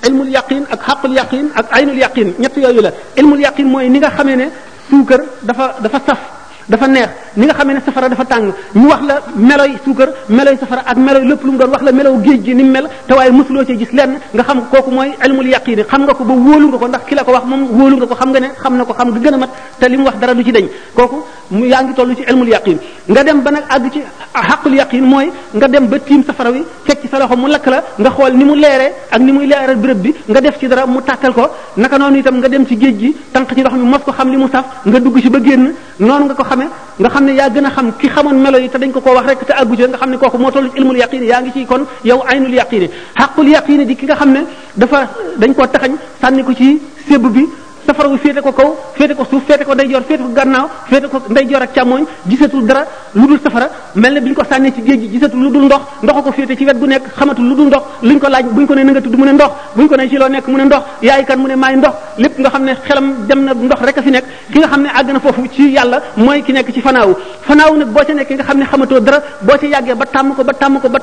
ilmul yaqin ak xaqul yaqin ak aynul yaqin ñett yooyu la ilmul yaqin mooy ni nga xamee ne suukar dafa saf dafa neex ni nga xamee ne safara dafa tàng ñu wax la meloy suukar meloy safara ak meloy lépp lu mu doon wax la melow géej gi ni mu mel te waaye mosuloo ci gis lenn nga xam kooku mooy ilmul yaqin xam nga ko ba wóolu nga ko ndax ki la ko wax moom wóolu nga ko xam nga ne xam na ko xam nga gën a mat te li mu wax dara du ci dañ kooku yaa ngi toll ci ilmul yaqin nga dem ba nag àgg ci xaqul yaqin mooy nga dem ba tiim safara wi fekk ci sa loxo mu lakk la nga xool ni mu leeree ak ni muy leeral béréb bi nga def ci dara mu tàkkal ko naka noonu itam nga dem ci géej gi tànq ci ndox mi mos ko xam li mu saf nga dugg ci ba génn noonu nga ko xamee nga xam ne yaa gën a xam ki xamoon melo yi te dañ ko koo wax rek te àggu ci nga xam ne kooku moo toll ci ilmul yaqin yaa ngi ci kon yow aynul yaqin xaqul yaqin di ki nga xam ne dañ koo taxañ sànni ko ci sébb bi safara wi féete ko kaw féete ko suuf féete ko ndeyjoor féete ko gannaaw féete ko ndeyjoor ak càmmooñ gisatul dara lu dul safara mel ne bi ñu ko sànnee ci géej gi gisatul lu dul ndox ndox ko féete ci wet gu nekk xamatul lu dul ndox luñ ko laaj buñ ko ne na nga tudd mu ne ndox buñ ko ne ci loo nekk mu ne ndox yaay kan mu ne maay ndox lépp nga xam ne xelam dem na ndox rek a fi nekk ki nga xam ne àgg na foofu ci yàlla mooy ki nekk ci fanaawu nag boo ca nekkee nga xam ne xamatoo dara boo ca yàggee ba tàmm ko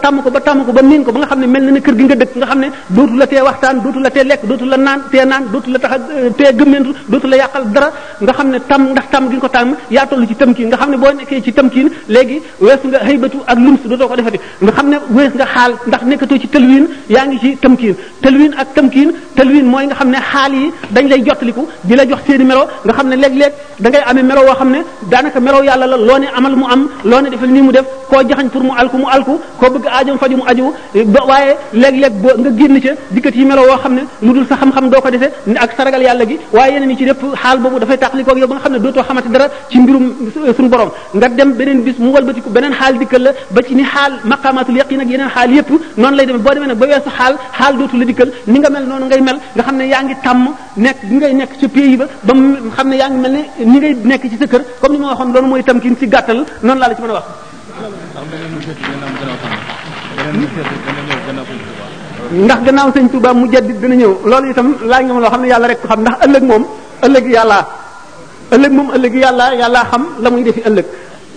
ba miin ko ba nga xam ne mel na ne kër gi nga dëkk nga xam ne dootu la tee waxtaan dootu la tee lekk dootu la naan dootu la tax tee gëmmentu dootu la yàqal dara nga xam ne ndax tàmm gi nga ko tàmm yaa toll ci tamkiin nga xam ne boo nekkee ci tamkiin léegi weesu nga haybatu ak lums dootoo ko defati nga xam ne wees nga xaal ndax nekkatoo ci tëlwiin yaa ngi ci tamkiin tëlwiin ak tamkiin tëlwiin mooy nga xam ne xaal yi dañ lay jottaliku di la jox seeni melo nga xam ne léeg-léeg da ngay amee melo woo xam ne daanaka melo yàlla la loo ne amal mu am loo ne defal nii mu def koo jaxañ pour mu alku koo bëgg aajom faju mu aju waaye léeg-léeg boo nga génn ca dikkat yi melo woo xam ne lu dul sa xam-xam doo ko defee ak saragal yàlla gi waaye yeneen yi ci lépp xaal boobu dafay tàqalikoog yow ba nga xam ne dootoo xamante dara ci mbirum suñu borom nga dem beneen bis mu walbatiku beneen xaal dikkal la ba ci ni xaal maqamatul yaqin ak yeneen xaal yépp noonu lay demee boo demee nag ba weesu xaal dootu la dikkal ni nga mel noonu ngay mel nga xam ne yaa ngi tàmm nekk gi ngay nekk ca pays ba ba mu xam ne yaa ngi mel ne ni ngay nekk ci sa kër comme ni ma waxoon loolu mooy tamkin ci gàttal noonu laa la ci mën a wax ndax gannaaw sëñ Touba mu jaddit dina ñëw loolu itam laaj nga ma loo xam ne yàlla rek ko xam ndax ëllëg moom ëllëg yàlla xam la muy defi ëllëg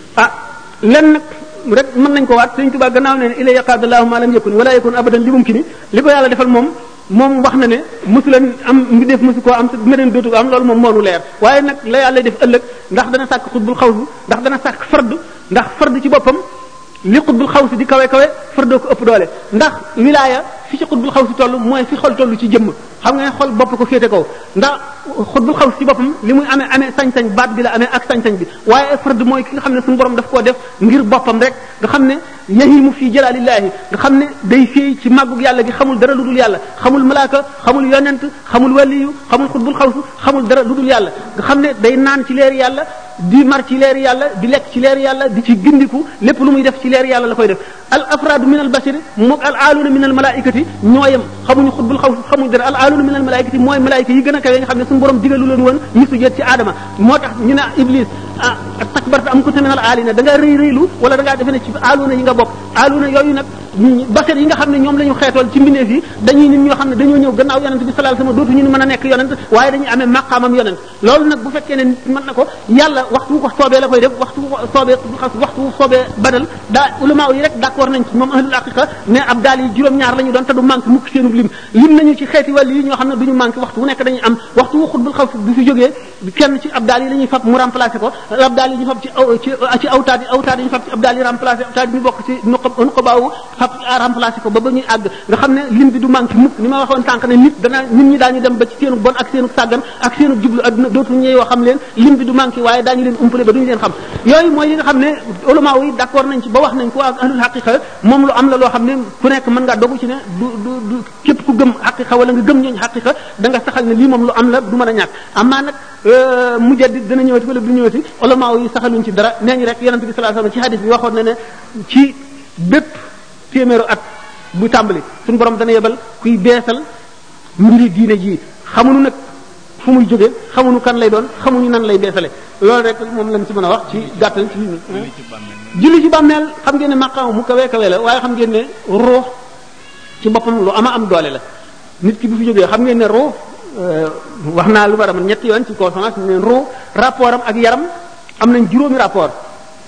lenn nag rek mën nañ ko waat sëñ Touba gannaaw ne ila yaqadallahu ma lam yakun wala yakun abadan li mumkin li ko yàlla defal moom wax na ne mosu leen am ngi def mosu koo am te meneen dootu ko am loolu moom moonu leer waaye nag la yàlla def ëllëg ndax dana sàkk xutbul xawsu ndax dana sàkk ndax fard ci boppam li xutbul xawsi di kawe fardoo ko ëpp doole ndax wilaaya fi ci xutbul xawsi toll mooy fi xol toll ci jëmm xam nga ne xol bopp ko féete kaw ndax xutbul xawsi ci boppam li muy amee sañ-sañ baat bi la amee ak sañ-sañ bi waaye fard mooy ki nga xam ne suñu borom daf koo def ngir boppam rek nga xam ne yahimu fii jalalillahi nga xam ne day féey ci màggug yàlla gi xamul dara lu dul yàlla xamul malaaka xamul yonent xamul waliyu xamul xutbul xawsi xamul dara lu dul yàlla nga xam ne day naan ci leeri yàlla di mar ci leeri yàlla di lekk ci leeri yàlla di ci gindiku lépp lu muy def ci leeri yàlla la koy def al afradu min al bashari moog al aaluna min al malaikati ñooyam xamuñu xutbul xawsi xamuñu dara al aaluna min al malaikati mooy malaayika yi gën a kawe nga xam ne suñu borom digalu leen woon ñu sujjóot ci aadama moo tax ñu ne iblis takbarta am kunta min al aalina da nga rëylu wala da ngaa defe ne ci aaluna yi nga bokk aaluna yooyu nag basar yi nga xam ne ñoom la ñu xeetool ci mbindeef yi dañuy nit ñoo xam ne dañoo ñëw gannaaw yonent bi sallallahu alayhi wasallam dootu ñu mën a nekk yonent waaye dañuy amee maqaamam yonent loolu nag bu fekkee ne nit mën na ko yàlla waxtu ko soobee la koy def waxtu ko soobee waxtu soobee badal daa ulama yi rek d'accord nañ ci moom ahlul haqiqa ne ab daal yi juróom-ñaar la ñu doon te du manqué mukk seenub lim nañu ci xeeti wàll yi ñoo xam ne duñu manqué waxtu wu nekk dañuy am waxtu wu xutbul xaw bu fi jógee kenn ci ab daal yi la ñuy fab mu remplacé ko ab daal yi ñu fab ci awtaad yi ñu fab ci ab daal yi remplacé awtaad yi ñu bokk ci nuqabaawu fab remplacé ko ba ñuy àgg nga xam ne lim bi du manqué mukk ni ma waxoon tànk ne nit ñi daañu dem ba ci seenu bon ak seenu sàggan ak seenu jublu adduna dootu ñëw yoo xam leen lim bi du manqué waaye daañu leen umpale ba duñu leen xam yooyu mooy yi nga xam ne ulama yi d'accord nañ ci ba wax nañ ko ak ahlul haqiqa moom lu am la loo xam ne ku nekk mën ngaa dogu ci ne du képp ku gëm haqiqa wala nga gëm ñooñu haqiqa da nga saxal ne lii moom lu am la du mën a ñàkk amaa nag mujaddid dana ñëwati wala du ñëwati ulama yi saxaluñ ci dara nee ñu rek yonent bi sallallahu alayhi wasallam ci hadith bi waxoon na ne ci bépp téeméeru at bu tàmbali suñu borom dana yebal kuy beesal mbiri diine ji xamuñu nag fu muy jóge xamuñu kan lay doon xamuñu nan lay beesale loolu rek moom lañ ci mën a wax ci gàttal ci julli ci bàmmeel xam ngeen ne maqaam mu kawe kawe la waaye xam ngeen ne ruux ci boppam lu am doole la nit ki bu fi jógee xam ngeen ne ruux wax naa lu war a mën ñetti yoon ci conférence ne ruux rapport am ak yaram am nañ juróomi rapport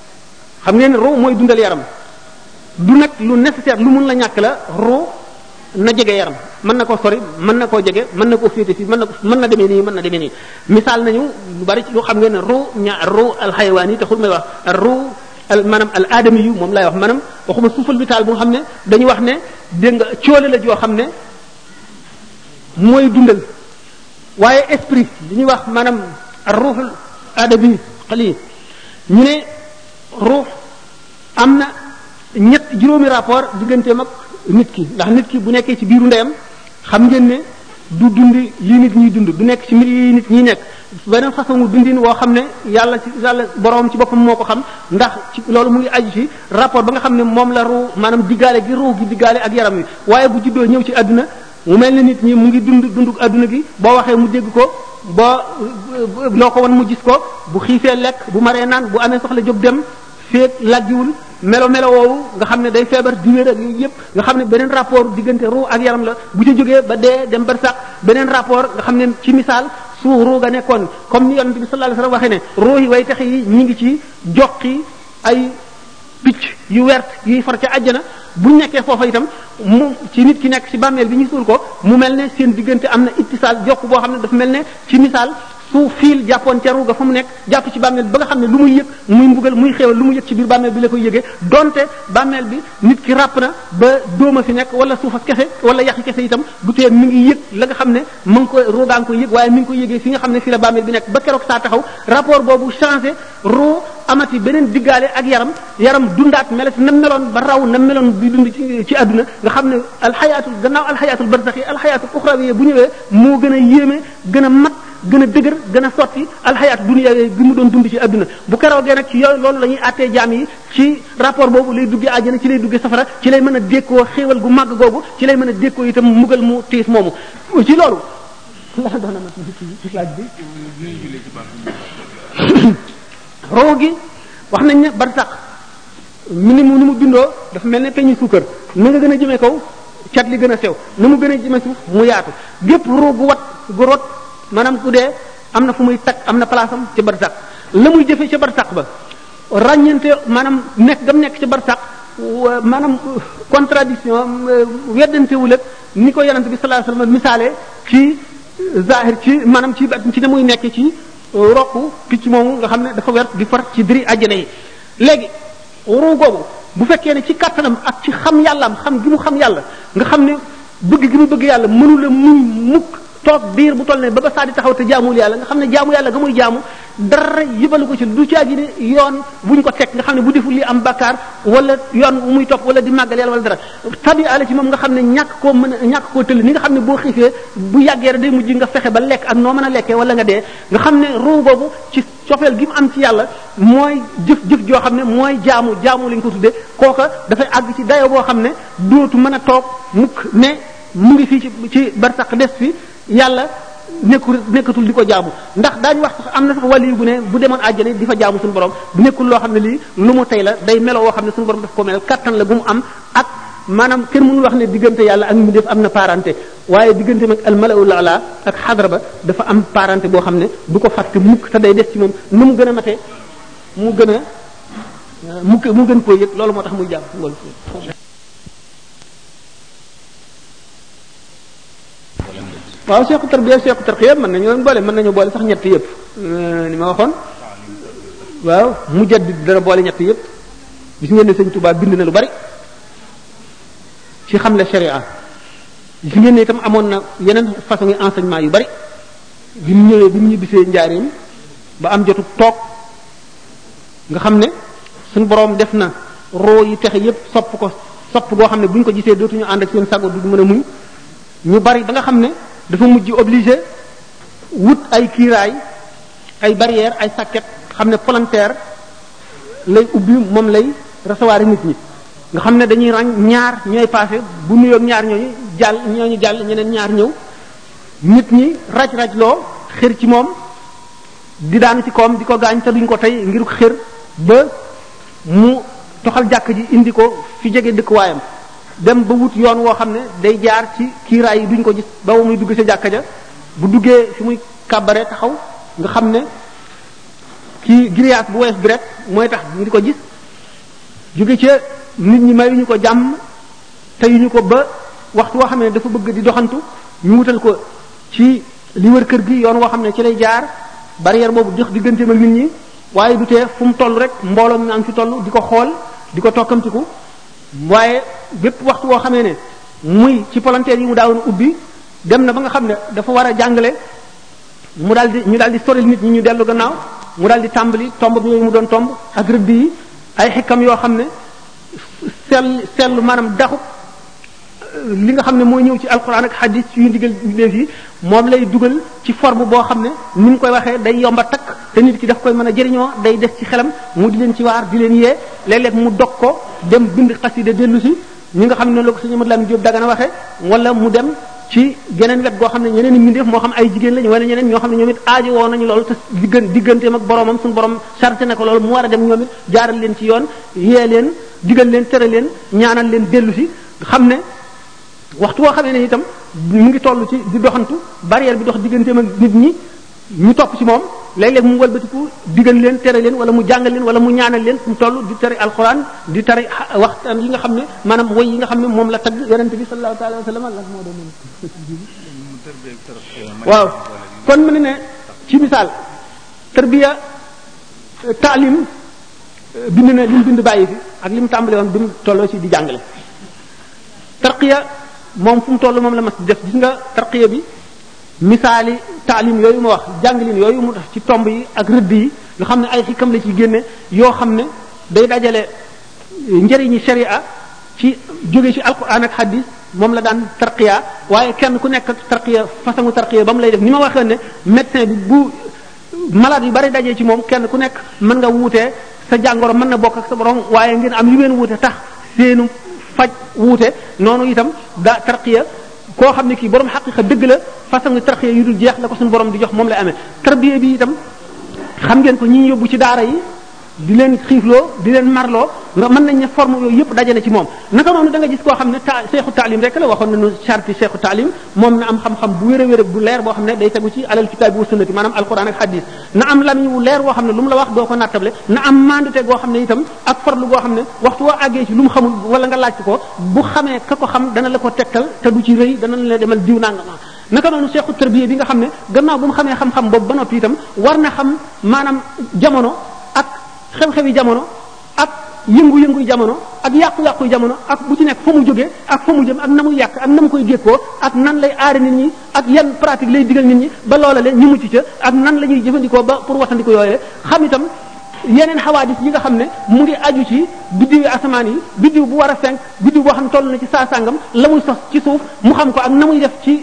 xam ngeen ne ruux mooy dundal yaram du nag lu nécessaire lu mun la ñàkk la ruux na jege yaram mën na koo sori mën na koo jege mën na koo féete fii mën na demee nii mën na demee nii misaal nañu lu bari ci lu xam ngeen ne ru alxayawaan yi taxul may wax ru maanaam al aadami yu moom lay wax maanaam waxuma suufal vital bu nga xam ne dañu wax ne dégg nga coole la joo xam ne mooy dundal waaye esprit li ñuy wax maanaam ruuxul aadami xali ñu ne ruux am na juróomi rapport digganteem ak nit ki ndax nit ki bu nekkee ci biiru ndeyam xam ngeen ne du dund lii nit ñuy dund du nekk ci mbir yi nit ñi nekk beneen façon dundin woo xam ne yàlla borom ci boppam moo ko xam ndax ci loolu mu ngi aju ci rapport ba nga xam ne moom la ruu maanaam diggaale gi ruu gi diggaale ak yaram wi waaye bu juddoo ñëw ci àdduna mu mel ne nit ñi mu ngi dund àdduna gi boo waxee mu dégg ko boo loo ko won mu gis ko bu xiifee lekk bu maree naan bu amee soxla jóg dem féeg lajjiwul melo woowu nga xam ne day feebar di wér ak yooyu yëpp nga xam ne beneen rapport diggante ruu ak yaram la bu ca jógee ba dee dem bar sax beneen rapport nga xam ne ci misaal su ruu ga nekkoon comme ni yonent bi sallallahu alayhi wasallam waxee ne ruu yi way taxe yi ñi ngi ci joqi ay picc yu wert yuy far ca àjjana bu nekkee foofa itam mu ci nit ki nekk ci bàmmeel bi ñu suul ko mu mel ne seen diggante am na ittisaal jokk boo xam ne dafa mel ne ci misaal su fiil jàppoon ca ruuga fa mu nekk jàpp ci bàmmeel bi ba nga xam ne lu muy yëg muy mbugal muy xéewal lu mu yëg ci biir bàmmeel bi la koy yëgee donte bàmmeel bi nit ki ràpp na ba dóoma fi nekk wala suufa kese wala yaxi kese itam du tee mi ngi yëg la nga xam ne mu ngi koy ruugaa ngi koy yëg waaye mi ngi koy yëgee fi nga xam ne fi la bàmmeel bi nekk ba keroog saa taxaw rapport boobu changé ruu amati beneen diggaale ak yaram dundaat melati na meloon ba raw na meloon bi dund ci àdduna nga xam ne alxayaatul gannaaw alxayaatul barzaxi alxayaatul uxrawi bu ñëwee moo gën a yéeme gën a mat gën a dëgër gën a sotti alxayaat dunya bi mu doon dund ci àdduna bu keroogee nag ci yooyu loolu la ñuy àttee jaam yi ci rapport boobu lay duggee àjjana ci lay duggee safara ci lay mën a dékkoo xéewal gu màgg googu ci lay mën a dékkoo itam mugal mu tiis moomu ci loolu la doon na ci laaj bi roo gi wax nañ ne barsax ni mu bindoo dafa mel ne peñu suukar na nga gën a jëmee kaw cat li gën a sew na mu gën a jëmee suuf mu yaatu gépp roo gu wat gu rot maanaam ku dee am na fu muy tag am na place am ci barsax la muy jëfee ca barsax ba ràññante maanaam nekk gam nekk ci barsax maanaam contradiction weddantewul ak ni ko yonent bi sallallahu alayhi wasallam misaale ci zahir ci maanaam ci ne muy nekk ci rokku picc moomu nga xam ne dafa wert di far ci diri àjjana yi léegi ruu googu bu fekkee ne ci kattanam ak ci xam yàllaam xam gi mu xam yàlla nga xam ne bëgg gi mu bëgg yàlla mënula muñ mukk toog biir bu toll ne ba saa di taxaw te jaamul yàlla nga xam ne jaamu yàlla ga muy jaamu dara yëbalu ko ci du caagi ne yoon buñ ko teg nga xam ne bu deful li am bakkaar wala yoon muy topp wala di màggal yàlla wala dara tabi ala ci moom nga xam ne ñàkk koo tëll ni nga xam ne boo xiifee bu yàggee rek day mujj nga fexe ba lekk ak noo mën a lekkee wala nga dee nga xam ne ruu boobu ci cofeel gi mu am ci yàlla mooy jëf joo xam ne mooy jaamu lañ ko tuddee kooka dafay àgg ci dayo boo xam ne dootu mën a toog mukk ne mu ngi fii ci barsax des fi yàlla nekkatul di ko jaamu ndax daañu wax sax am na sax wàllu bu ne bu demoon àjjana di fa jaamu suñu borom bu nekkul loo xam ne lii lu mu tey la day melo woo xam ne suñu borom daf ko mel kattan la gu mu am ak maanaam kenn mënul wax ne diggante yàlla ak mu def am na parenté waaye diggante mag al malaul ala ak xadra ba dafa am parenté boo xam ne du ko fàtte mukk te day des ci moom nu mu gën a matee mu gën koo yëg loolu moo tax muy jaam loolu waaw seeku tarbiya seeku tarqiya mën nañu boole sax ñett yëpp ni ma waxoon waaw mujaddid dana boole ñett yëpp gis ngeen ne sëñ Touba bind na lu bari ci xamle sharia gis ngeen ne itam amoon na yeneen façon yi enseignement yu bari bi mu ñibbisee njaareem ba am jotu toog nga xam ne suñu boroom def na roo yi texe yëpp sopp goo xam ne bu ñu ko gisee dootuñu ànd ak seen sago du mën a muñ ñu bari ba nga xam ne dafa mujj obligé wut ay kiiraay ay barrière ay sàkket xam ne volontaire lay ubbi moom lay recevoir nit ñi nga xam ne dañuy ràññ ñaar ñooy passé bu nuyoog ñaar ñooñu jàll ñeneen ñaar ñëw nit ñi raj loo xër ci moom di daanu ci koom di ko gaañ te duñ ko tey ngir xër ba mu toxal jàkk ji indi ko fi jege dëkkuwaayam dem ba wut yoon woo xam ne day jaar ci kiiraay yi duñ ko gis ba muy dugg ca jàkka ja bu duggee fi muy kàbbare taxaw nga xam ne kii grillage bu wees bi rek mooy tax ñu di ko gis jóge ca nit ñi mayuñu ko jàmm te yuñu ko ba waxtu woo xam ne dafa bëgg di doxantu ñu wutal ko ci li wër kër gi yoon woo xam ne ci lay jaar barrière boobu dox digganteem ak nit ñi waaye du tee fu mu toll rek mbooloo mi am ci toll di ko xool di ko tokkamtiku waaye bépp waxtu woo xamee ne muy ci volontaire yi mu daawoon ubbi dem na ba nga xam ne dafa war a jàngale ñu daal di soril nit ñi ñu dellu gannaaw mu daal di tàmbali tomb bi yooyu mu doon tomb ak rëdd yi ay xikam yoo xam ne sellu maanaam daxu li nga xam ne mooy ñëw ci alquran ak hadith yu ndigal léef yi moom lay dugal ci forme boo xam ne ni mu koy waxee day yomba takk te nit ki daf koy mën a jëriñoo day des ci xelam mu di leen ci waar di leen yee léeg-léeg mu dog ko dem bind xasida dellu si ñi nga xam ne noonu la ko sëñ Amadou Lamine Diop Dagana waxee wala mu dem ci geneen wet goo xam ne ñeneen i mbindeef moo xam ay jigéen lañu wala ñeneen ñoo xam ne ñoom it aajo woo nañu loolu te digganteem ak boromam suñu borom chargé na ko loolu mu war a dem ñoom it jaaral leen ci yoon yee leen digal leen tere leen ñaanal leen dellu si xam ne waxtu woo xamee ne itam mu ngi toll ci di doxantu barrière bi dox digganteem ak nit ñi ñu topp ci moom léeg-léeg mu walbatiku digal leen tere leen wala mu jàngal leen wala mu ñaanal leen fu mu toll di tere alquran di tere waxtaan yi nga xam ne maanaam woy yi nga xam ne moom la tagg yonente bi sallallahu alayhi wa sallam lan moo doon waaw kon mu ne ci misaal tarbiya taalim bind na li mu bind bàyyi fi ak li mu tàmbale woon bi mu tolloo ci di jàngale tarqiya moom fu mu toll moom la mas def gis nga tarqiya bi misaali taalim yooyu ma wax jàngalin yooyu mu def ci tomb yi ak rëdd yi nga xam ne ay xikam la ci génne yoo xam ne day dajale njëriñi sharia ci jóge ci alquran ak hadith moom la daan tarqiya waaye kenn ku nekk tarqiya façon tarqiya ba mu lay def ni ma waxee ne médecin bi bu malade yu bari dajee ci moom kenn ku nekk mën nga wuutee sa jàngoro mën na bokk ak sa borom waaye ngeen am yu ngeen wuute tax seenu faj wuute noonu itam da tarqiya koo xam ne kii borom xaqiqa dëgg la façon tarqiya yu dul jeex la ko suñu borom di jox moom lay amee tarbiya bi itam xam ngeen ko ñi ñu yóbbu ci daara yi di leen xiifloo di leen marloo nga mën nañ ne forme yooyu yëpp daje na ci moom naka noonu da nga gis koo xam ne seexu taalim rek la waxoon nañu charti seexu taalim moom na am xam-xam bu wér a wér bu leer boo xam ne day tegu ci alal kitaabi wa sunnati maanaam alquran ak hadith na am lamiñ wu leer boo xam ne lu mu la wax doo ko nattable na am mandute goo xam ne itam ak farlu goo xam ne waxtu woo àggee ci lu mu xamul wala nga laaj ko bu xamee ka ko xam dana la ko tegtal te du ci rëy dana la demal diw nangama naka noonu seexu tarbiya bi nga xam ne gannaaw bu mu xamee xam-xam boobu ba noppi itam war na xam maanaam jamono ak xew-xewi jamono ak yëngu-yëngu jamono ak yàqu-yàqu jamono ak bu ci nekk fa mu jógee ak fa mu jëm ak na muy yàq ak na mu koy gékkoo ak nan lay aare nit ñi ak yan pratique lay digal nit ñi ba loola leen ñu mucc ca ak nan la ñuy jëfandikoo ba pour watandiko yooyee xam itam yeneen xawaadis yi nga xam ne mu ngi aju ci biddiwi asamaan yi biddiw bu war a fenk biddiw boo xam ne toll na ci saa sàngam la muy sos ci suuf mu xam ko ak na muy def ci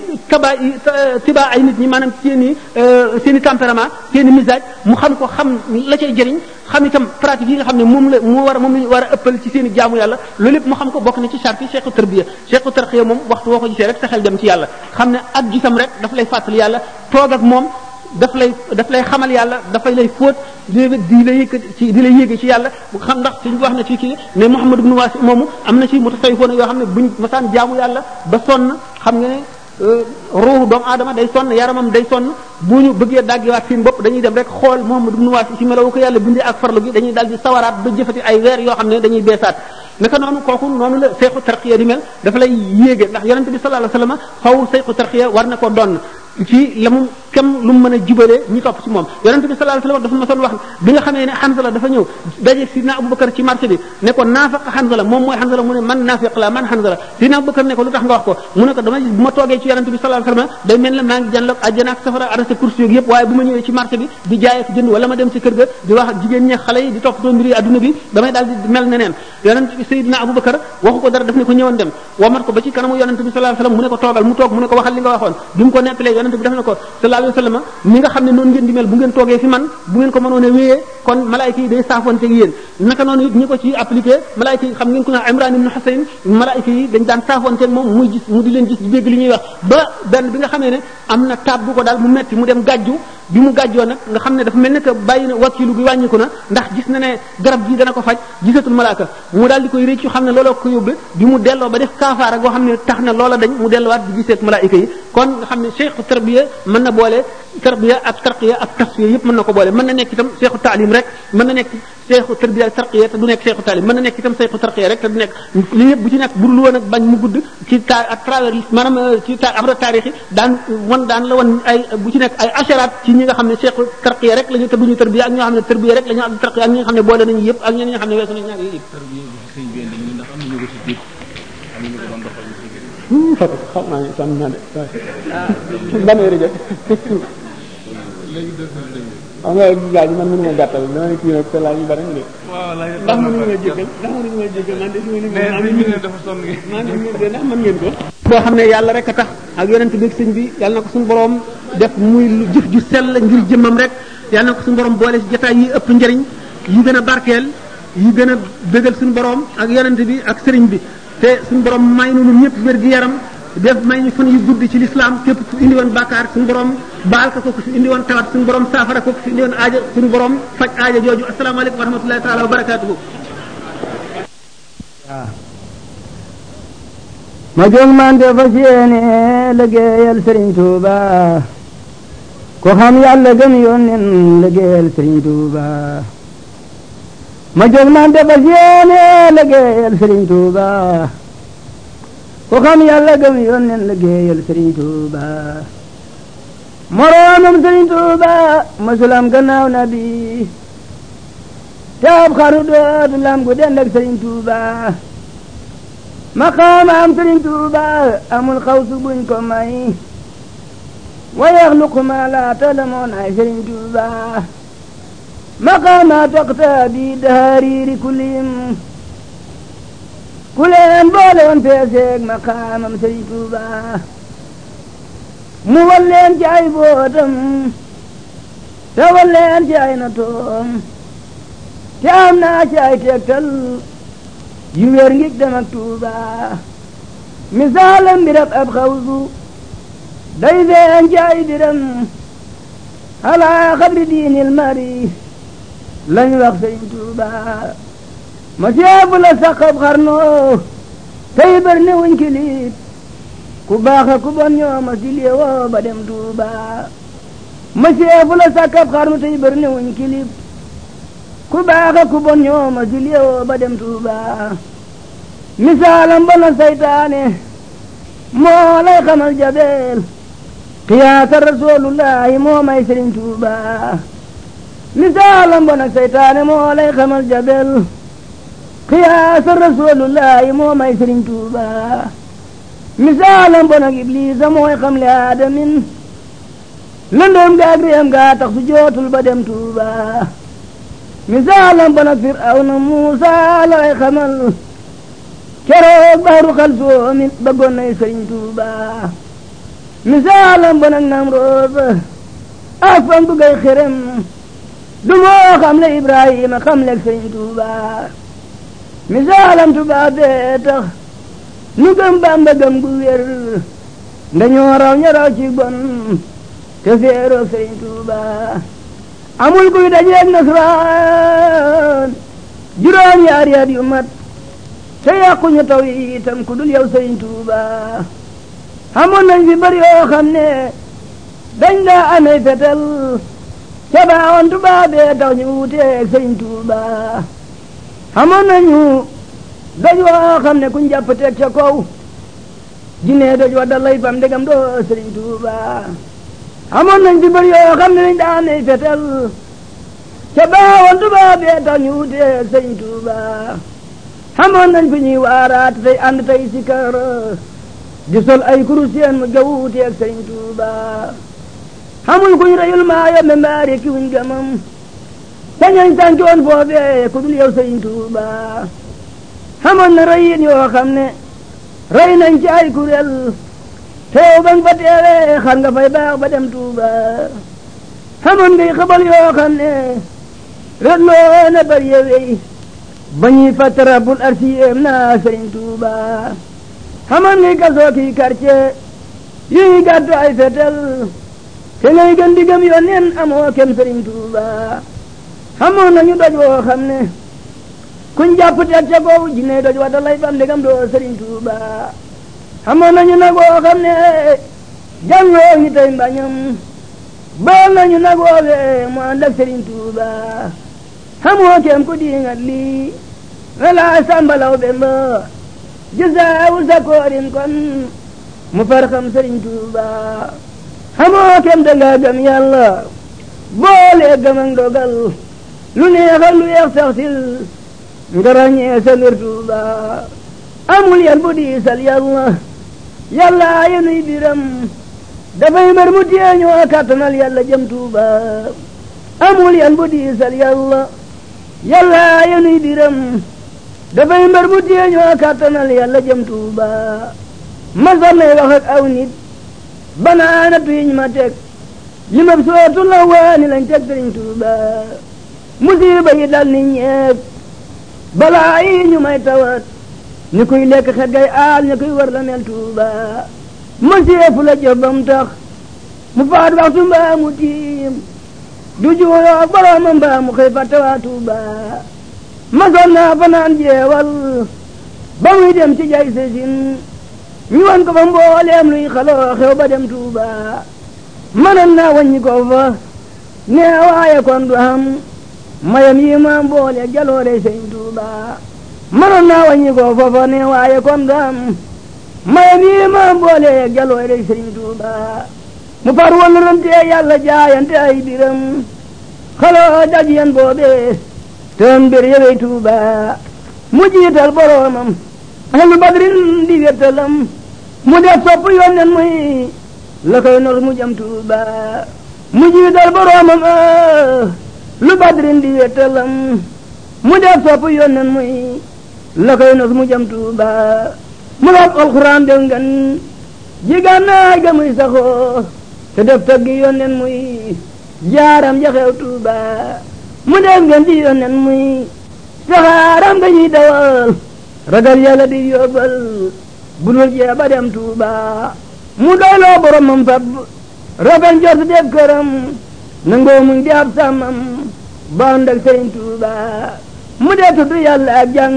tiba ay nit ñi maanaam seen i tempérament seen i misage mu xam ko xam la cay jëriñ xam itam pratique yi nga xam ne moom la ñu war a ëppal ci seen i jaamu yàlla loolu lépp mu xam ko bokk na ci charte cheikhu tarbiya cheikhu tarqiya moom waxtu woo ko gisee rek sa xel dem ci yàlla xam ne ak gisam rek daf lay fàttali yàlla toog ak moom daf lay xamal yàlla dafay lay fóot di la yéege ci yàlla bu xam ndax suñu wax na ci kii ne Muhammad ibn Wasi moomu am na ci mutasawwifoon yoo xam ne buñ masaan jaamu yàlla ba sonn xam nga ne ruuhu doomu aadama day sonn yaramam day sonn bu ñu bëggee daggiwaat seen bopp dañuy dem rek xool Muhammad ibn Wasi ci melawu ko yàlla bindee ak farlu gi dañuy dal di sawaraat ba jëfati ay weer yoo xam ne dañuy beesaat naka noonu kooku noonu la seexu tarqiya di mel dafa lay yéege ndax yonente bi sallallahu alayhi wasallam faw seexu tarqiya war na ko donn ci la mu kem lu mu mën a jubalee ñi topp ci moom yonente bi sallallahu alayhi wasallam dafa ma son wax bi nga xamee ne Hanzala dafa ñëw daje sidna Abubakar ci marché bi ne ko naafiq Hanzala moom mooy Hanzala mu ne man naafiq la man Hanzala sidna Abubakar ne ko lu tax nga wax ko mu ne ko dama bu ma toogee ci yonente bi sallallahu alayhi wasallam day mel ne maa ngi jànloog àjjana ak safara arrêté course yooyu yëpp waaye bu ma ñëwee ci marché bi di jaay ak jënd wala ma dem ci kër ga di wax jigéen ñi xale yi di toppatoo mbiri adduna bi damay daal di mel neneen yonente bi Seydina Abubakar waxu ko dara daf ne ko ñëwoon dem wamat ko ba ci kanamu yonente bi sallallahu alayhi wasallam mu ne ko toogal mu toog mu ne ko waxal li nga waxoon bi mu ko nettalee yonente bi daf ne ko sallallahu alayhi wasallam ni nga xam ne noonu ngeen di mel bu ngeen toogee fi man bu ngeen ko mënoon a wéyee kon malaayika yi day saafonte ak yéen naka noonu it ñi ko ci appliqué malaayika yi xam ngeen ko na Imran ibn Husayn malaayika yi dañ daan saafonte ak moom muy gis mu di leen gis di dégg li ñuy wax ba benn bi nga xamee ne am na taab bu ko daal mu metti mu dem gàjju bi mu gàjjoo nag nga xam ne dafa mel ne que bàyyi na wakilu bi wàññiku na ndax gis na ne garab gi dana ko faj gisatul malaaka mu daal di koy réccu xam ne looloo ko yóbbe bi mu delloo ba def kaafaara goo xam ne tax na loola dañ mu delluwaat di giseet malaayika yi kon nga xam ne cheikhu tarbiya mën na boole tarbiya ak tarqiya ak tasfiya yëpp mën na ko boole mën na nekk itam cheikhu taalim rek mën na nekk seexu tarbiya ak tarqiya te du nekk seexu taalib mën na nekk itam seexu tarqiya rek te du nekk li yëpp bu ci nekk bu dul woon ak bañ mu gudd ci à travers maanaam ci abra taarix yi daan la wan ay bu ci nekk ay asharaat ci ñi nga xam ne seexu tarqiya rek la ñu te duñu tarbiya ak ñoo xam ne tarbiya rek la ñu am tarqiya ak ñi nga xam ne boole nañu yëpp ak ñi nga xam ne weesu nañu ñaar yëpp Fatou xam naa ne sànni naa de ban heure jot xam nga laaj man mënu ma gàttal dama kii nag te laaj yu bari de ndax mënuñu ma jéggal man de si ndax mën ngeen ko boo xam ne yàlla rek a tax ak yonent bi sëñ bi yàlla na ko suñu borom def muy jëf ju sell ngir jëmmam rek yàlla na ko suñu borom boole si jotaay yi ëpp njëriñ yi gën a barkeel yi gën a bégal suñu borom ak yonent bi ak sëriñ bi te suñu borom may nu ñun ñëpp wér gi yaram def may ñu fan yu gudd ci lislaam képp ku indi woon bàkkaar suñu borom baal ko ku fi indi woon tawat suñu borom saafara ko ku fi indi woon aaja suñu borom faj aaja jooju asalaamaaleykum wa rahmatullahi taala wa barakaatuhu. waaw ma jóg man de fas yéene liggéeyal Serigne Touba ko xam yàlla gëm yónneen liggéeyal Serigne Touba ma jóg man de fas yéene liggéeyal Serigne Touba ko xam yàlla gëm yónneen liggéeyal Serigne Touba moroomam Serigne Touba masulam gannaaw nabi te ab xaru dootu lam gu dend ak Serigne Touba maqaamam Serigne Touba amul xawsu buñ ko may wa yaxluqu ma la talamoon ay Serigne Touba maqaama toqta bi dahariri kulim ku leen boole woon peeseeg maqaamam Serigne Touba mu wal leen ci ay bootam te wal leen ci ay natoom te am naa ci ay tegtal yu wér ngig dem ak Touba misaalam birab ab xawsu day feeñ ci ay diram ala xabri diinil mari lañ wax Serigne Touba ma seebu la saqab xarnoo tey bër ne wuñ kilib ku baax ku bon ñoo ma si léewoo ba dem Touba ma seebu la saqab xarnu tey bër ne wuñ kilib ku baax ku bon ñoo ma si léewoo ba dem Touba misaalam ba na saytaane moo lay xamal jabeel xiyaasa rasulullahi moo may Serigne Touba misaalam ba na saytaane moo lay xamal jabeel xiyaasa rasulullahi moo may Serigne Touba misaalam ba nag iblisa mooy xam le aadamin lëndoom gaag réem gaa tax su jootul ba dem Touba misaalam ba nag firawna Muusa lay xamal keroog baxru xal soomin bëggoon nay Serigne Touba misaalam ba nag Namrood ak fam bu gay xerem du moo xam le Ibrahima xam leeg Serigne Touba misaalam Touba bee tax nu gëm Bamba gëm gu wér ndañoo raw ña raw ci bon te féeroog Serigne Touba amul kuy dajeeg nasraan juróom yaari at yu mat te yàquñu taw yi itam ku dul yow Serigne Touba amoon nañ fi bari yoo xam ne dañ daa amee fetel ca baawoon Touba bee tax ñu wuteeg Serigne Touba amoon nañu doj woo xam ne kuñ jàpp teg ca kaw jinne doj wa dalay fam ndegam doo Serigne Touba amoon nañ fi bari yoo xam ne dañ daa amee fetel ca baawoon Touba bee tax ñu wuteeg Serigne Touba amoon nañ fi ñuy waaraat tey ànd tey si kër di sol ay kurusien mu jawuti ak Serigne Touba xamul kuñ reyul maa yombe mbaari ki wuñ gamam sañañ sàncoon foofee ku dul yow Serigne Touba xamoon na reyin yoo xam ne rey nañ ci ay kuréel teew ba nga fa teewee xar nga fay baax ba dem Touba xamoon ngay xabal yoo xam ne ret loo na bari yewey ba ñuy fattara bul arsiyem naa Serigne Touba xamoon ngay gasoo kii quartier yuy gàddu ay fetel te ngay gën di gëm yónneen amoo kem Serigne Touba xamoon nañu doj woo xam ne kuñ jàpp teg ca kaw jinne doj wa dalay fam ndegam doo Serigne Touba xamoon nañu nag woo xam ne jàngoo ñi tey mbañam baal nañu nag woowee mu ànd ak Serigne Touba xamoo kem ku diingat lii wala sambalaw bemba gisaawul sa koorin kon mu far xam Sëriñ Tuuba xamoo kem danga gëm yàlla boole gëm ak ndogal lu neex ak lu yeex sax sil nga ràññee sa mbir Tuuba amul yan bu diisal yàlla yàlla yenuy biram dafay mbër mu téeñoo kàttanal yàlla jëm Tuuba amul yan bu diisal yàlla yàlla yenuy biram dafay mbër mu téeñoo kàttanal yàlla jëm Tuuba ma sonnay wax ak aw nit banaana tuyiñ ma teg li ma sootu la waani lañ teg Sëriñ Tuuba musiba yi dal ni ñeeg balaa yi ñu may tawat ni kuy lekk xet gay aal ni kuy war la mel Tuuba masiyeefu la jëf bam tax mu faat waxtu mbaa mu tiim du juuyoo ak boroomam mbaa mu xëy fàtte waa Tuuba masoon naa fanaan jeewal ba muy dem ci jay sesin ñu wan ko fa mbooleem luy xaloo xew ba dem Tuuba mënoon naa wàññi ko fa nee waaye kon du am mayam yi ma mboole jaloore Sëriñ Tuuba mënoon naa wàññi ko fa fa nee waaye kon du am mayam yi ma mboole jaloore Sëriñ Tuuba mu far woon rante yàlla jaayante ay biram xaloo daj yan boobe tëm bir yewey Tuuba mu jiital boroomam ahlu badrin di wettalam mu def sopp yonnen muy la koy nos mu jëm Tuuba mu jiital boroomam lu badrin di wettalam mu def sopp yonnen muy la koy nos mu jëm Tuuba mu wax alxuraan de ngan jigannaay ga muy saxoo te def taggi yonnen muy jaaram jaxew Tuuba mu def ngeen di yonnen muy saxaaram ga ñuy dawal ragal yàlla di yóbbal bu dul jee ba dem Tuuba mu doyloo boromam fab rafet njort def këram nangoo muñ di ab sàmmam ba ànd ak Sëriñ Tuuba mu dee tudd yàlla ak jàng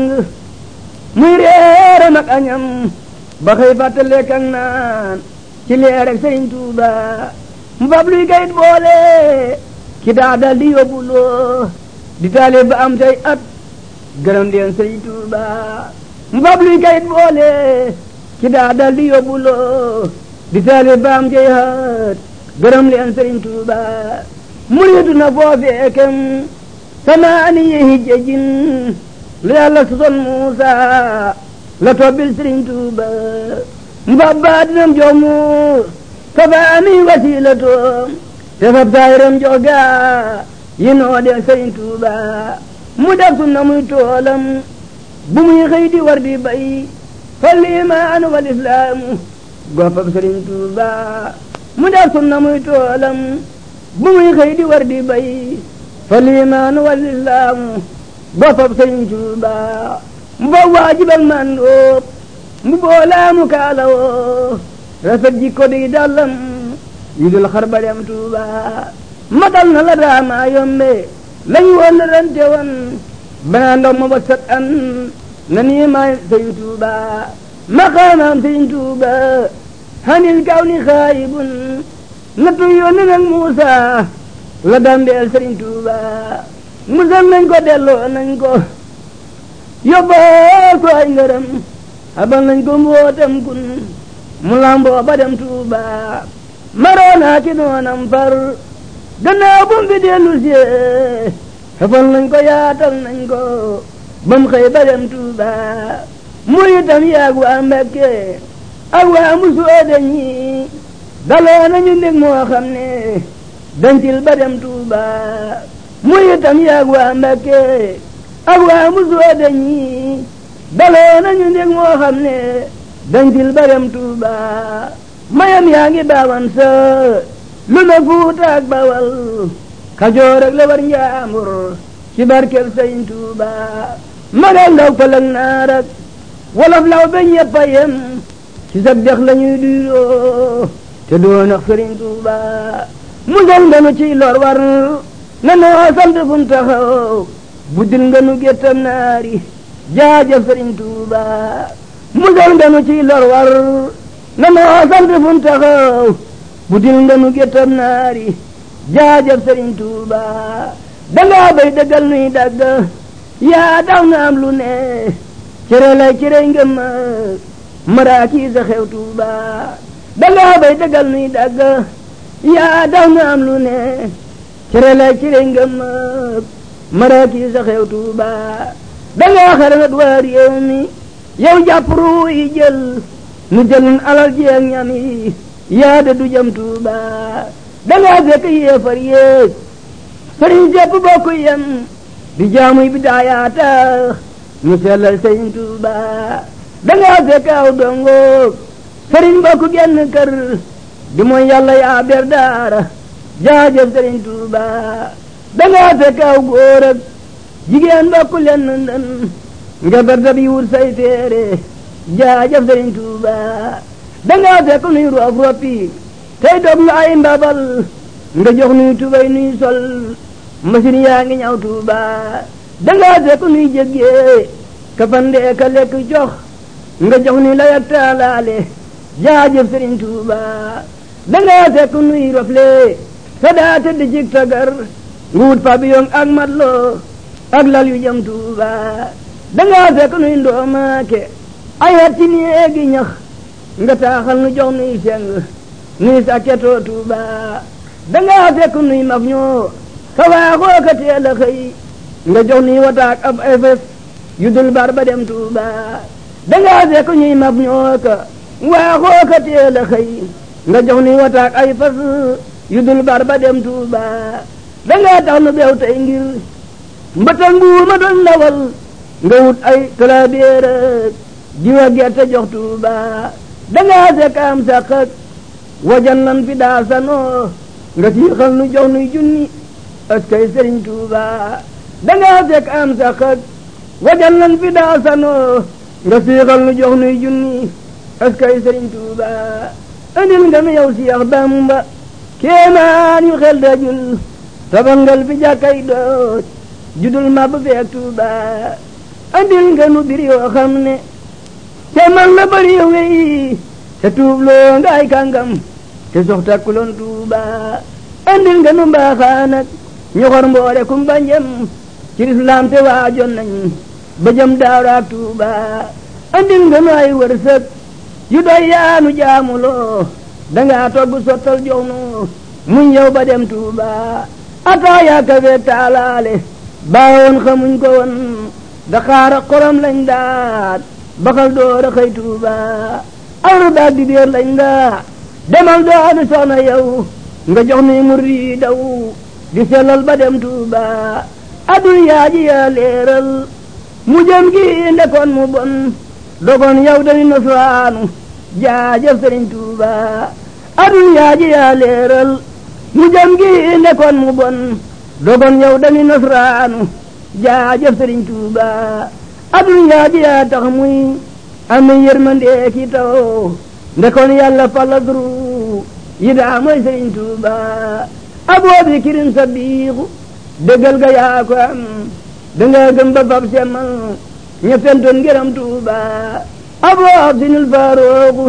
muy réeram ak añam ba xëy fàtte lekk ak naan ci leer ak Sëriñ Tuuba mu fab luy kayit boole ki daa dal di yóbbuloo di taalib ba am tey at gërëm leen Sëriñ Tuuba mu fab luy kayit boole ki daa dal di yóbbuloo di taalib ba am tey at gërëm leen Sëriñ Tuuba muriitu na foofee kem samaani yi hijjajin lu yàlla sosoon Muusa la tobbil Sëriñ Tuuba mu fab baatinam jox mu kafaani wasiilatoom te fab saayiram jox gaa yi noo dee Sëriñ Tuuba mu def sunna muy toolam bu muy xëy di war di bay fal iimaanu wal islaamu goppam Sëriñ Tuuba mu def sunna muy toolam bu muy xëy di war di bay fal iimaanu wal islaamu goppam Sëriñ Tuuba mu ba waajibal man doo mu boolaamu kaalawoo rafet jikko di dallam yu dul xar ba dem Tuuba matal na la daamaa yombe lañ woon la rante woon banaa ndox ma ba sat an na nii maay Sëriñ Tuuba maqaamaam Sëriñ Tuuba hanil kaw ni xaayibun nattu yoon nag Muusa la dambeel Sëriñ Tuuba musal nañ ko delloo nañ ko yóbboo ko ay ngërëm abal nañ ko mbootam kun mu lamboo ba dem Tuuba maroonaa ki noonam far gannaaw bu mu fi dellu see xefal nañ ko yaatal nañ ko ba mu xëy ba dem Tuuba muy itam yaag waa Mbakke ak waa Musooda ñi daloo nañu mbég moo xam ne dancil ba dem Tuuba muy itam yaag waa Mbakke ak waa Musooda ñi daloo nañu mbég moo xam ne dancil ba dem Tuuba mayam yaa ngi baawan sa lu na Fuuta ak Bawal Kajoor ak la war Njaambur ci barkeb Sëriñ Tuuba magal ndaw pëlëg naar ak wolof law ba ñëpp a yem ci sab dex la ñuy duyoo te doon ak Sëriñ Tuuba musal nga nu ciy lor war na noo sant fu mu taxaw buddil nga nu géttam naari jaajëf Sëriñ Tuuba musal nga nu ciy lor war na noo sant fu mu taxaw buddil nga nu géttam naari jaajëf Sëriñ Tuuba dangaa bay dëggal nuy dagg yaa tax na am lu ne cere lay cere ngëm maraaki sa xew Tuuba dangaa bay dëggal nuy dagg yaa tax na am lu ne cere lay cere ngëm maraaki sa xew Tuuba dangaa xarangat waa réew mi yow jàpp ruu yi jël nu jëlun alal jeeg ñam yi yaa de du jëm Tuuba dangaa fekk yéefar yéeg sëriñ sépp bokk yem di jaamuy bi daayaa tax ñu sellal sëriñ Tuuba dangaa fekk aw dongoog sëriñ bokk genn kër di mooy yàlla yaa ber daara jaajëf sëriñ Tuuba dangaa fekk aw góor ak jigéen bokk lenn ndën nga ber dab yi wut say téere jaajëf sëriñ Tuuba dangaa fekk nuy roof roppi tey dog nga ay mbabal nga jox nuy tubay nuy sol machine yaa ngi ñaw Tuuba dangaa fekk nuy jéggee ka fandee ka lekk jox nga jox nuy layak taalaale jaajëf sëriñ Tuuba dangaa fekk nuy rofle sa daa tëdd cig tagar nga wut pabiyong ak matlo ak lal yu jëm Tuuba dangaa fekk nuy ndoomaake ay hat ci néegi ñax nga taaxal nu jox nuy seng nuy sàkketoo Tuuba dangaa fekk nuy maf ñoo ka waaxoo ka teel a xëy nga jox nuy wataak ab efes yu dul bar ba dem Tuuba dangaa fekk ñuy maf ñoo ka waaxoo ka teel a xëy nga jox nuy wataak ay fas yu dul bar ba dem Tuuba dangaa tax nu beew tey ngir mbëtëg mbuuma doon ndawal nga wut ay talaabeer diwa gerte jox Tuuba dangaa fekk am saqak wajan lan fi daa sanoo nga siixal nu jox nuy junni askay sëriñ Tuuba dangaa fekk am saqak wajan lan fi daa sanoo nga siixal nu jox nuy junni askay sëriñ Tuuba andil nga nu yow Seex Bamba kéemaan yu xel dajul tabangal fi jàkkay doot judul ma ba feek Tuuba andil nga nu bir yoo xam ne te man la bari wey te tuubloo nga ay kàngam te sox takkuloon Tuuba andil nga nu mbaaxaan ak ñu xor mboore kumba njëm ci lislaam te waajoon nañ ba jëm daawraak Tuuba andil nga nu ay wërsëg yu doy yaanu jaamuloo dangaa togg sottal jox nu muñ yow ba dem Tuuba ataaya kafe taalaale baawoon xamuñ ko woon daxaara xorom lañ daat baxal door a xëy Tuuba awru daat di biir lañ daa demal dooni soxna yow nga jox nuy murid yi daw di sellal ba dem Tuuba addunyaa ji yaa leeral mu jëm gi ndekoon mu bon dogon yow dañu nasraanu jaajëf sëriñ Tuuba addunyaa ji yaa leeral mu jëm gi ndekoon mu bon dogon yow dañu nasraanu jaajëf sëriñ Tuuba addunyaa ji yaa tax muy am yërmande ki taw ndekoon yàlla faladru yi daa mooy sëriñ Tuuba aboo bi kirin sa biixu dëggal ga yaa ko am danga gëm ba fab semmal ña fentoon ngërëm Tuuba aboo abdinul faarooku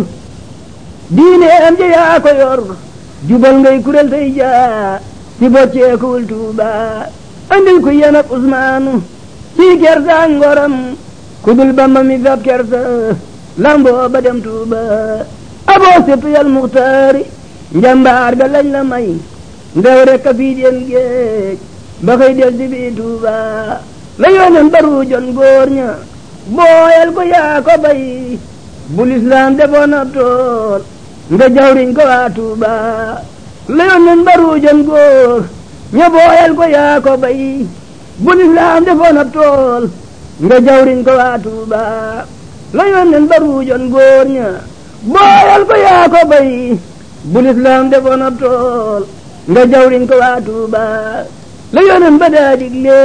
diine am ja yaa ko yor jubal ngay kurel tey jaa ci bocceekuwul Tuuba andil ku yem ak Usmaanu ci kersa ngoram ku dul Bamba mi fab kersa lamboo ba dem Tuuba aboo sëtu yal muxtaari njambaar ga lañ la may ndew rek a fii dem géej ba xëy del si bii Tuuba la yoonen baru jon góor ña booyal ko yaa ko bay bu lislaam defoon ab tool nga jawriñ ko waa Tuuba la yoonen baru jon góor ña booyal ko yaa ko bay bu lislaam defoon ab tool nga jawriñ ko waa Tuuba la yoonen baru jon góor ña booyal ko yaa ko bay bu lislaam defoon ab tool nga jawriñ ko waa Tuuba la yoonen ba daa digle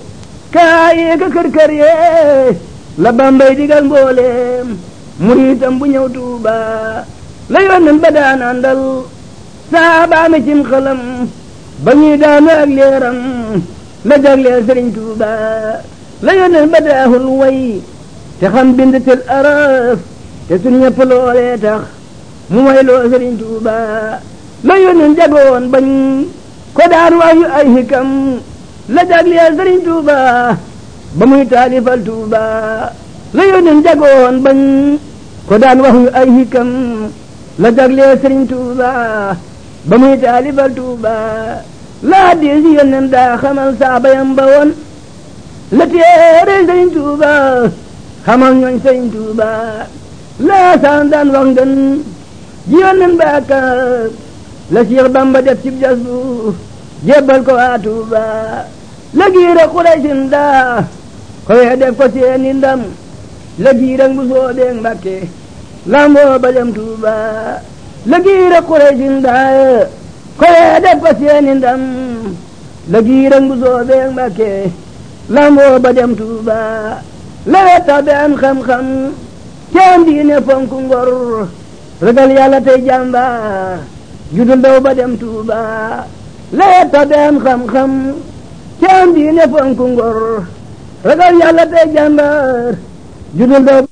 kaayee ka kër yee la Bambay digal mbooleem muriitam bu ñëw Tuuba la yoonen ba daa nandal saabaame cim xalam ba ñuy daanu ak leeram la jagleel sëriñ Tuuba la yoonen ba daahul way te xam bind tel araf te sun ñëpp loolee tax mu way loo sëriñ Tuuba la yoonen jagoon bañ ko daan waayu ay hikam la jagleel Sëriñ Tuuba ba muy taalifal Tuuba la yónneen jagoon bañ ko daan wax yu ay hikam la jagleel Sëriñ Tuuba ba muy taalifal Tuuba la hadiis yónneen daa xamal saabayam ba woon la téere Sëriñ Tuuba xamal ñooñ Sëriñ Tuuba la saan daan wax ngën ji yónneen ba ka la Seex Bamba def cib jas bu jébbal ko waa Tuuba la giira Quraysin daa ko wee def ko seeni ndam la giira bu soobee Mbàkke lamboo ba dem Tuuba la giira Quraysin daa ko wee def ko seeni ndam la giira bu soobee Mbàkke lamboo ba dem Tuuba la wetta be am xam-xam ceen diine fonku ngor ragal Yàlla tey jàmbaar judul daw ba dem Tuuba la wetta be am xam-xam ceen diine fonku ngor ragal Yàlla tey jàmbaar judul daw